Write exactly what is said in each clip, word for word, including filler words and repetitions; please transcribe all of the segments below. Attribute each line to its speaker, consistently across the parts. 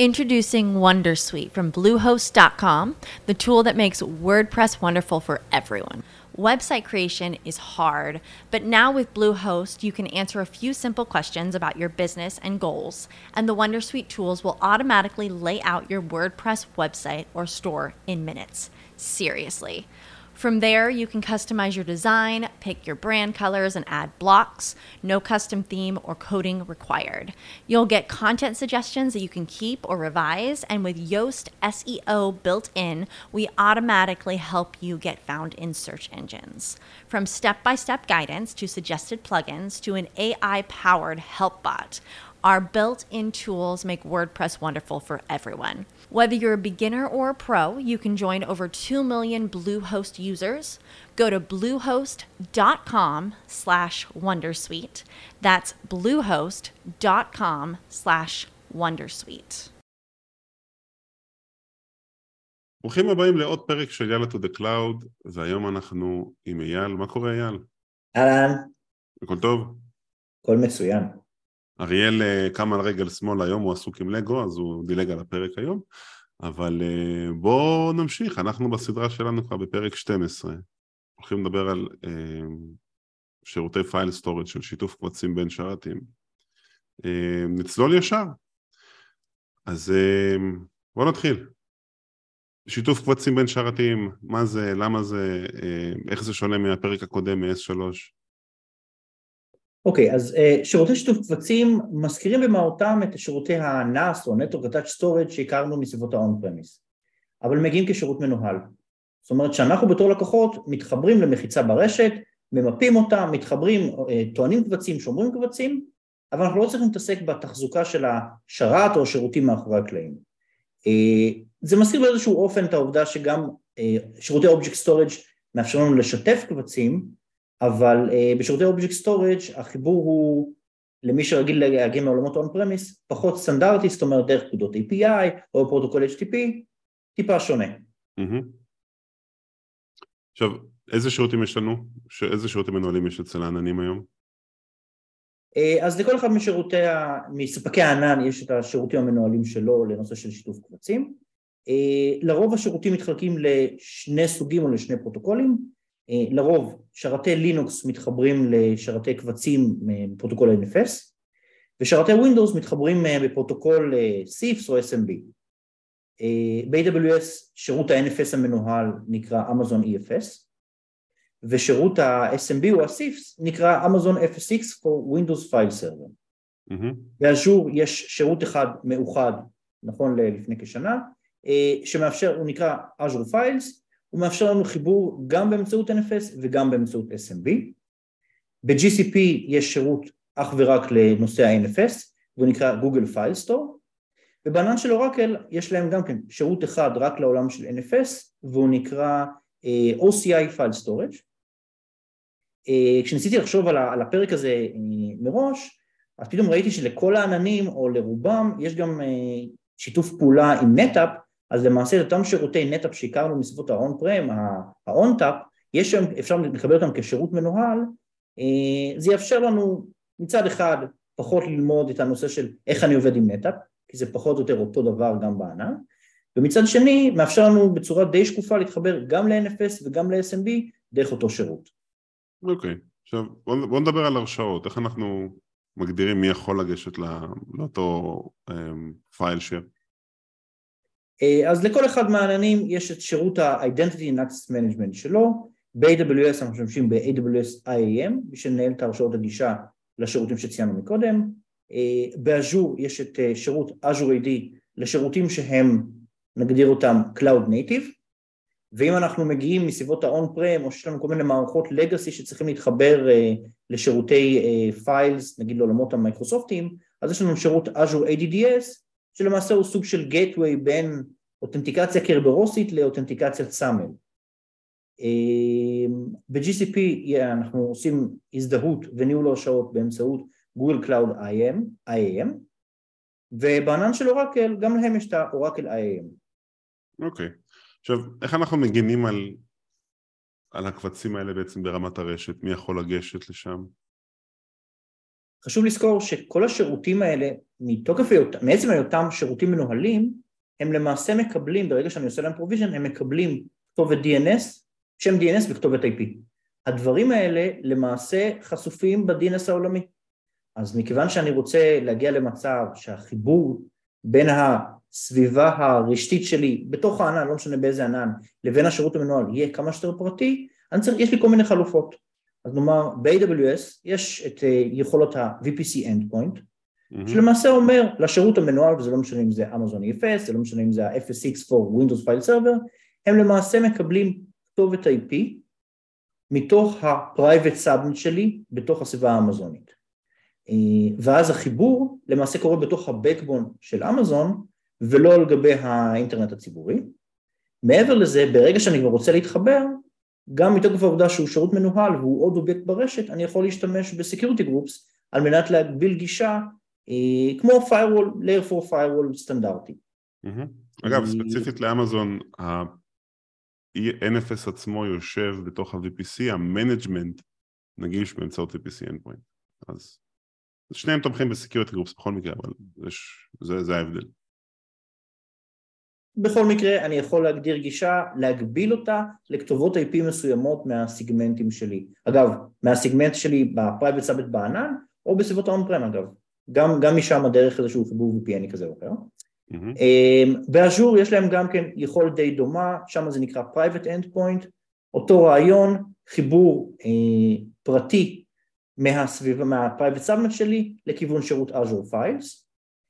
Speaker 1: Introducing Wondersuite from Bluehost dot com, the tool that makes WordPress wonderful for everyone. Website creation is hard, but now with Bluehost, you can answer a few simple questions about your business and goals, and the Wondersuite tools will automatically lay out your WordPress website or store in minutes. Seriously. From there, you can customize your design, pick your brand colors, and add blocks. No custom theme or coding required. You'll get content suggestions that you can keep or revise, and with Yoast S E O built in, we automatically help you get found in search engines. From step-by-step guidance to suggested plugins to an A I-powered help bot, our built-in tools make WordPress wonderful for everyone. Whether you're a beginner or a pro, you can join over two million Bluehost users. Go to bluehost dot com slash wondersuite. That's bluehost dot com slash wondersuite.
Speaker 2: ברוכים הבאים לעוד פרק של יאללה to the cloud, והיום אנחנו עם אייל. מה קורה אייל?
Speaker 3: אהלן.
Speaker 2: הכל טוב?
Speaker 3: הכל מצוין.
Speaker 2: אריאל קם על רגל שמאל היום, הוא עסוק עם לגו, אז הוא דילג על הפרק היום, אבל בואו נמשיך, אנחנו בסדרה שלנו כבר בפרק שתים עשרה, הולכים לדבר על שירותי פייל סטורג' של שיתוף קבצים בין שרתים. נצלול ישר, אז בואו נתחיל. שיתוף קבצים בין שרתים, מה זה, למה זה, איך זה שונה מהפרק הקודם מ-אס שלוש?
Speaker 3: אוקיי, אז uh, שירותי שיתוף קבצים מזכירים במהותם את שירותי ה-נאס או Network Attached Storage שהכרנו מסביבות ה-on-premise, אבל מגיעים כשירות מנוהל. זאת אומרת שאנחנו בתור לקוחות מתחברים למחיצה ברשת, ממפים אותה, מתחברים, uh, טוענים קבצים, שומרים קבצים, אבל אנחנו לא צריכים להתעסק בתחזוקה של השרת או השירותים מאחורי הקלעים. Uh, זה מזכיר באיזשהו אופן את העובדה שגם uh, שירותי Object Storage מאפשרים לנו לשתף קבצים, אבל uh, בשירותי Object Storage החיבור הוא, למי שרגיל להגיע מעולמות on-premise, פחות סטנדרטי, זאת אומרת דרך פקודות איי פי איי או פרוטוקול אייץ' טי טי פי, טיפה שונה.
Speaker 2: Mm-hmm. עכשיו, איזה שירותים יש לנו? איזה שירותים מנוהלים יש אצל העננים היום?
Speaker 3: Uh, אז לכל אחד משירותי, מספקי הענן יש את השירותים המנוהלים שלו לנושא של שיתוף קבצים. Uh, לרוב השירותים מתחלקים לשני סוגים או לשני פרוטוקולים, לרוב שרתי לינוקס מתחברים לשרתי קבצים בפרוטוקול אן אף אס, ושרתי ווינדוס מתחברים בפרוטוקול סיפס או אס אם בי. ב-איי דאבליו אס שירות ה-אן אף אס המנוהל נקרא Amazon אי אף אס, ושירות ה-אס אם בי או ה-סיפס נקרא Amazon אף אס אקס for Windows File Server.
Speaker 2: Mm-hmm.
Speaker 3: באז'ור יש שירות אחד מאוחד, נכון לפני כשנה, שמאפשר, הוא נקרא Azure Files, הוא מאפשר לנו חיבור גם באמצעות אן אף אס וגם באמצעות אס אם בי. ב-ג'י סי פי יש שירות אך ורק לנושא ה-אן אף אס, והוא נקרא Google File Store, ובענן של אורקל יש להם גם כן שירות אחד רק לעולם של אן אף אס, והוא נקרא uh, או סי איי File Storage. Uh, כשניסיתי לחשוב על, על הפרק הזה uh, מראש, אז פתאום ראיתי שלכל העננים או לרובם יש גם uh, שיתוף פעולה עם נטאפ, אז למעשה את אותם שירותי נטאפ שהכרנו מסביבות ה-on-prem, ה-on-tap, יש שם, אפשר לקבל אותם כשירות מנוהל, זה יאפשר לנו מצד אחד פחות ללמוד את הנושא של איך אני עובד עם נטאפ, כי זה פחות או יותר אותו דבר גם בענן, ומצד שני מאפשר לנו בצורה די שקופה להתחבר גם ל-אן אף אס וגם ל-אס אם בי דרך אותו שירות.
Speaker 2: אוקיי, עכשיו בואו נדבר על הרשאות, איך אנחנו מגדירים מי יכול לגשת לאותו פייל share?
Speaker 3: אז לכל אחד מהעננים יש את שירות ה-Identity and Access Management שלו, ב-איי דאבליו אס אנחנו משתמשים ב-איי דאבליו אס איי איי אם, בשביל לנהל את הרשאות הגישה לשירותים שציינו מקודם, באז'ור יש את שירות Azure איי די לשירותים שהם, נגדיר אותם Cloud Native, ואם אנחנו מגיעים מסביבות ה-on-prem, או שיש לנו כל מיני מערכות Legacy שצריכים להתחבר לשירותי Files, נגיד לעולמות המייקרוסופטיים, אז יש לנו שירות Azure איי די די אס, שלמעשה הוא סוג של gateway בין אותנטיקציה קרברוסית לאותנטיקציית סאמל. ב-ג'י סי פי אנחנו עושים הזדהות וניהול הרשאות באמצעות Google Cloud איי איי אם, ובענן של אורקל גם להם יש את האורקל איי איי אם.
Speaker 2: אוקיי, עכשיו איך אנחנו מגינים על, על הקבצים האלה בעצם ברמת הרשת? מי יכול לגשת לשם?
Speaker 3: חשוב לזכור שכל השירותים האלה, מתוקף, מעצם היותם שירותים מנוהלים, הם למעשה מקבלים, ברגע שאני עושה להם פרוביז'ן, הם מקבלים כתובת די אן אס, שם די אן אס וכתובת איי פי. הדברים האלה למעשה חשופים ב-די אן אס העולמי. אז מכיוון שאני רוצה להגיע למצב שהחיבור בין הסביבה הרשתית שלי, בתוך הענן, לא משנה באיזה ענן, לבין השירות המנוהל, יהיה כמה שיותר פרטי, אני צריך, יש לי כל מיני חלופות. אז נאמר, ב-איי דאבליו אס יש את יכולות ה-וי פי סי Endpoint, mm-hmm. שלמעשה אומר לשירות המנוהל, וזה לא משנה אם זה Amazon אי אף אס, זה לא משנה אם זה ה-אף אס איקס for Windows File Server, הם למעשה מקבלים כתובת איי פי, מתוך ה-Private Subnet שלי, בתוך הסביבה האמזונית. ואז החיבור למעשה קורה בתוך ה-Backbone של אמזון, ולא על גבי האינטרנט הציבורי. מעבר לזה, ברגע שאני כבר רוצה להתחבר, גם מתוקף העובדה שהוא שירות מנוהל והוא עוד אובייקט ברשת, אני יכול להשתמש ב-Security Groups על מנת להגביל גישה אה, כמו Firewall, Layer four Firewall סטנדרטי.
Speaker 2: Mm-hmm. אגב, ספציפית לאמזון, ה-אן אף אס עצמו יושב בתוך ה-וי פי סי, המנג'מנט נגיש באמצעות וי פי סי Endpoint. אז שניהם תומכים ב-Security Groups בכל מקרה, אבל יש, זה, זה ההבדל.
Speaker 3: בכל מקרה אני יכול להגדיר גישה, להגביל אותה לכתובות איי פי מסוימות מהסיגמנטים שלי. אגב, מהסיגמנט שלי בפרייבט סאבנט בענן, או בסביבות האון-פרם אגב. גם, גם משם הדרך איזשהו חיבור וי פי אן כזה או אחר. Mm-hmm. באז'ור יש להם גם כן יכולת די דומה, שם זה נקרא Private Endpoint, אותו רעיון, חיבור אה, פרטי מהסביבה, מהפרייבט סאבנט שלי, לכיוון שירות Azure Files.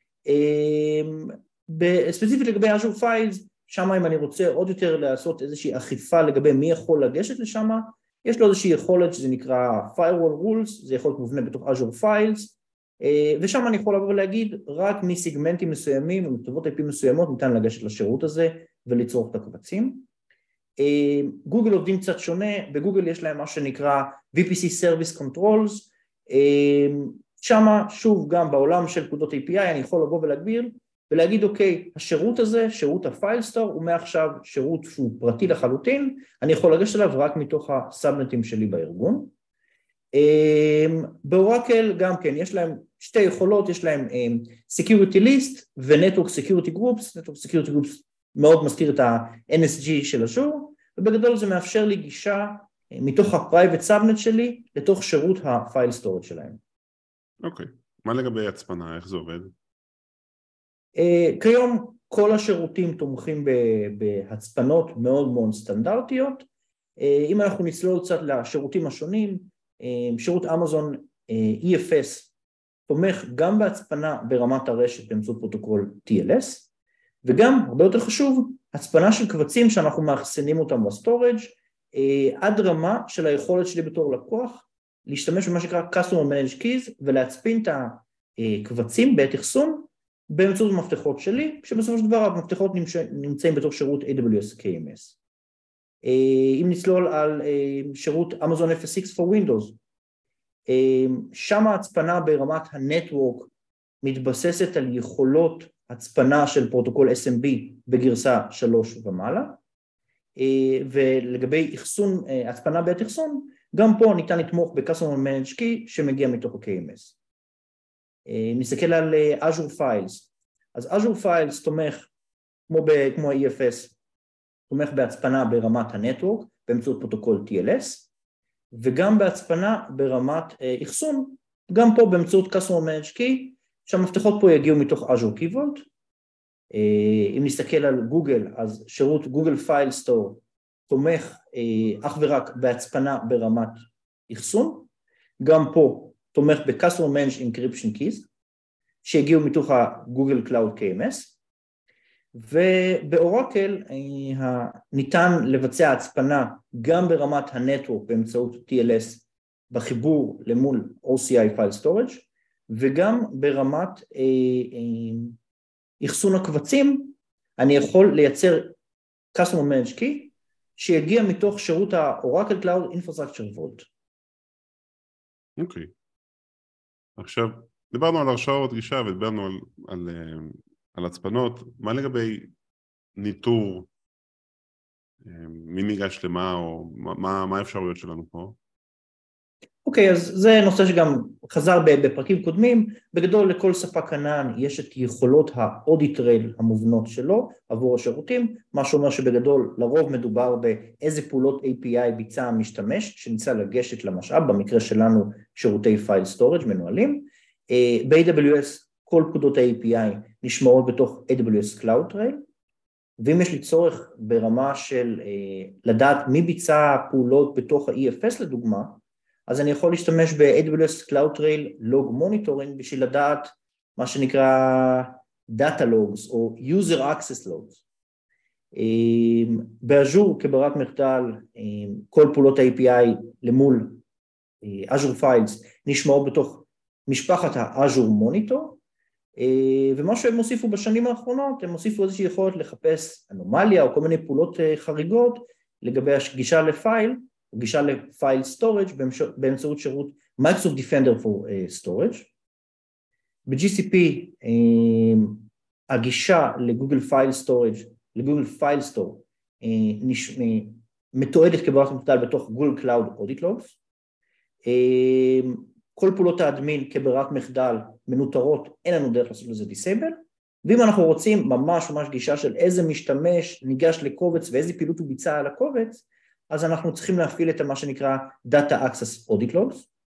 Speaker 3: אה, ספציפית לגבי Azure Files, שם אם אני רוצה עוד יותר לעשות איזושהי אכיפה לגבי מי יכול לגשת לשם, יש לו איזושהי יכולת שזה נקרא Firewall Rules, זה יכול להיות מובנה בתוך Azure Files, ושם אני יכול לבוא ולהגיד, רק מסיגמנטים מסוימים ומכתובות איי פי מסוימות ניתן לגשת לשירות הזה ולצרוך את הקבצים. גוגל עובדים קצת שונה, בגוגל יש להם מה שנקרא וי פי סי Service Controls, שם שוב גם בעולם של פקודות איי פי איי אני יכול לבוא ולהגביר, ולהגיד אוקיי, השירות הזה, שירות הפייל סטור, הוא מעכשיו שירות שהוא פרטי לחלוטין, אני יכול לגשת אליו רק מתוך הסאבנטים שלי בארגון. באורקל גם כן, יש להם שתי יכולות, יש להם Security List ו-Network Security Groups, Network Security Groups מאוד מזכיר את ה-אן אס ג'י של אז'ור, ובגדול זה מאפשר לי גישה מתוך ה-Private Subnet שלי לתוך שירות ה-File Storage שלהם.
Speaker 2: אוקיי, מה לגבי הצפנה, איך זה עובד?
Speaker 3: Uh, כיום כל השירותים תומכים בהצפנות מאוד מאוד סטנדרטיות, uh, אם אנחנו נצלול קצת לשירותים השונים, uh, שירות אמזון uh, אי אף אס תומך גם בהצפנה ברמת הרשת באמצעות פרוטוקול טי אל אס, וגם, הרבה יותר חשוב, הצפנה של קבצים שאנחנו מאחסנים אותם בסטורג' uh, עד רמה של היכולת שלי בתור לקוח, להשתמש במה שנקרא Customer Managed Keys ולהצפין את הקבצים בעת אחסון, באמצעות המפתחות שלי, שבסופו של דבר המפתחות נמצאים בתוך שירות איי דאבליו אס קי אם אס. אם נצלול על שירות Amazon אף אס איקס for Windows, שם ההצפנה ברמת הנטוורק מתבססת על יכולות הצפנה של פרוטוקול אס אם בי בגרסה שלוש ומעלה, ולגבי אחסון, הצפנה בעת אחסון, גם פה ניתן לתמוך ב-Customer Managed Key שמגיע מתוך ה-קי אם אס. נסתכל על Azure Files, אז Azure Files תומך, כמו, ב, כמו ה-אי אף אס, תומך בהצפנה ברמת הנטוורק, באמצעות פרוטוקול טי אל אס, וגם בהצפנה ברמת אחסון, גם פה באמצעות Customer Managed Key, שהמפתחות פה יגיעו מתוך Azure Key Vault. אם נסתכל על גוגל, אז שירות Google File Store תומך אך ורק בהצפנה ברמת אחסון, גם פה, תומך ב-Customer Managed Encryption Keys, שהגיעו מתוך ה-Google Cloud קי אם אס, ובאורקל ניתן לבצע הצפנה גם ברמת הנטוורק באמצעות טי אל אס בחיבור למול או סי איי File Storage, וגם ברמת אחסון הקבצים, אני יכול לייצר Customer Managed Key, שיגיע מתוך שירות ה-Oracle Cloud Infrastructure Vault.
Speaker 2: אוקיי. Okay. עכשיו, דיברנו על הרשאות גישה ודיברנו על, על, על הצפנות, מה לגבי ניטור, מי ניגש למה או מה, מה האפשרויות שלנו פה?
Speaker 3: אוקיי, אז זה נושא שגם חזר בפרקים קודמים. בגדול לכל ספק ענן יש את יכולות האודיט רייל המובנות שלו עבור השירותים, מה שאומר שבגדול לרוב מדובר באיזה פעולות איי פי איי ביצע המשתמש שניסה לגשת למשאב, במקרה שלנו שירותי פייל סטורג' מנוהלים. ב-איי דאבליו אס כל פקודות ה-איי פי איי נשמרות בתוך איי דאבליו אס Cloud Trail, ואם יש לי צורך ברמה של לדעת מי ביצע פעולות בתוך ה-אי אף אס לדוגמה, אז אני יכול להשתמש ב-איי דאבליו אס Cloud Trail Log Monitoring בשביל לדעת מה שנקרא Data Logs או User Access Logs. באז'ור כברירת מחדל, כל פעולות ה-איי פי איי למול Azure Files נשמעות בתוך משפחת ה-Azure Monitor, ומה שהם הוסיפו בשנים האחרונות, הם הוסיפו איזושהי יכולת לחפש אנומליה או כל מיני פעולות חריגות לגבי הגישה לפייל, או גישה לפייל סטורג' באמצעות שירות Microsoft Defender for Storage. ב-ג'י סי פי הגישה לגוגל פייל סטורג', לגוגל פייל סטור, מתועדת כברירת מחדל בתוך גוגל קלאוד אודיט לוגס. כל פעולות האדמין כברירת מחדל מנוטרות, אין לנו דרך לעשות לזה דיסייבל, ואם אנחנו רוצים ממש ממש גישה של איזה משתמש ניגש לקובץ ואיזה פעילות הוא ביצע על הקובץ, אז אנחנו צריכים להפעיל את מה שנקרא Data Access Audit Logs.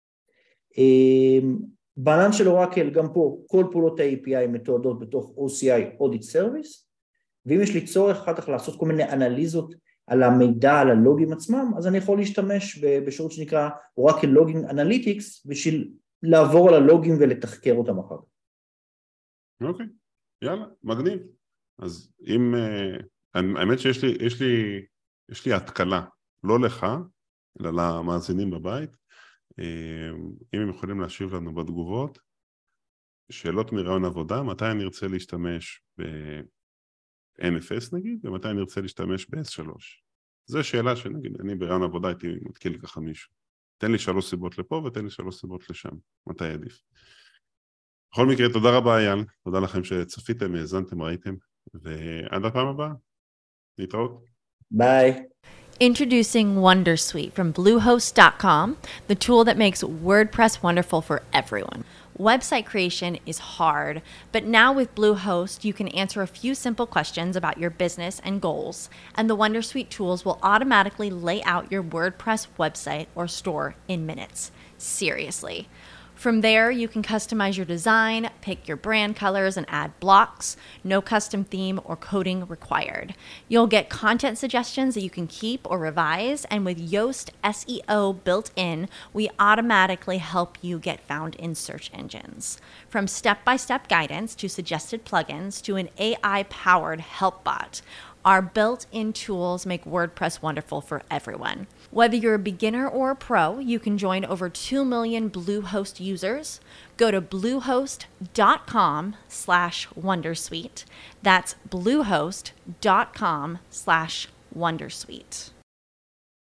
Speaker 3: בענן של אורקל גם פה כל פעולות ה-איי פי איי מתועדות בתוך או סי איי Audit Service, ואם יש לי צורך אחר כך לעשות כל מיני אנליזות על המידע, על הלוגים עצמם, אז אני יכול להשתמש בשירות שנקרא Oracle Logging Analytics, בשביל לעבור על הלוגים ולתחקר אותם אחר כך.
Speaker 2: אוקיי, יאללה, מגניב. אז אם, האמת שיש לי, יש לי, יש לי התקלה, לא לך, אלא למאזינים בבית, אם הם יכולים להשיב לנו בתגובות, שאלות מרעיון עבודה, מתי אני ארצה להשתמש ב-אן אף אס נגיד, ומתי אני ארצה להשתמש ב-אס שלוש. זו שאלה שנגיד, אני ברעיון עבודה הייתי מתקיל ככה מישהו. תן לי שלוש סיבות לפה ותן לי שלוש סיבות לשם. מתי עדיף? בכל מקרה, תודה רבה אייל, תודה לכם שצפיתם, האזנתם, ראיתם, ועד הפעם הבאה. להתראות.
Speaker 3: ביי.
Speaker 1: Introducing Wondersuite from Bluehost dot com, the tool that makes WordPress wonderful for everyone. Website creation is hard, but now with Bluehost, you can answer a few simple questions about your business and goals, and the Wondersuite tools will automatically lay out your WordPress website or store in minutes. Seriously. From there, you can customize your design, pick your brand colors, and add blocks. No custom theme or coding required. You'll get content suggestions that you can keep or revise, and with Yoast S E O built in, we automatically help you get found in search engines. From step-by-step guidance to suggested plugins to an A I-powered help bot, our built-in tools make WordPress wonderful for everyone. Whether you're a beginner or a pro, you can join over two million Bluehost users. Go to bluehost dot com slash wondersuite. That's bluehost dot com slash wondersuite.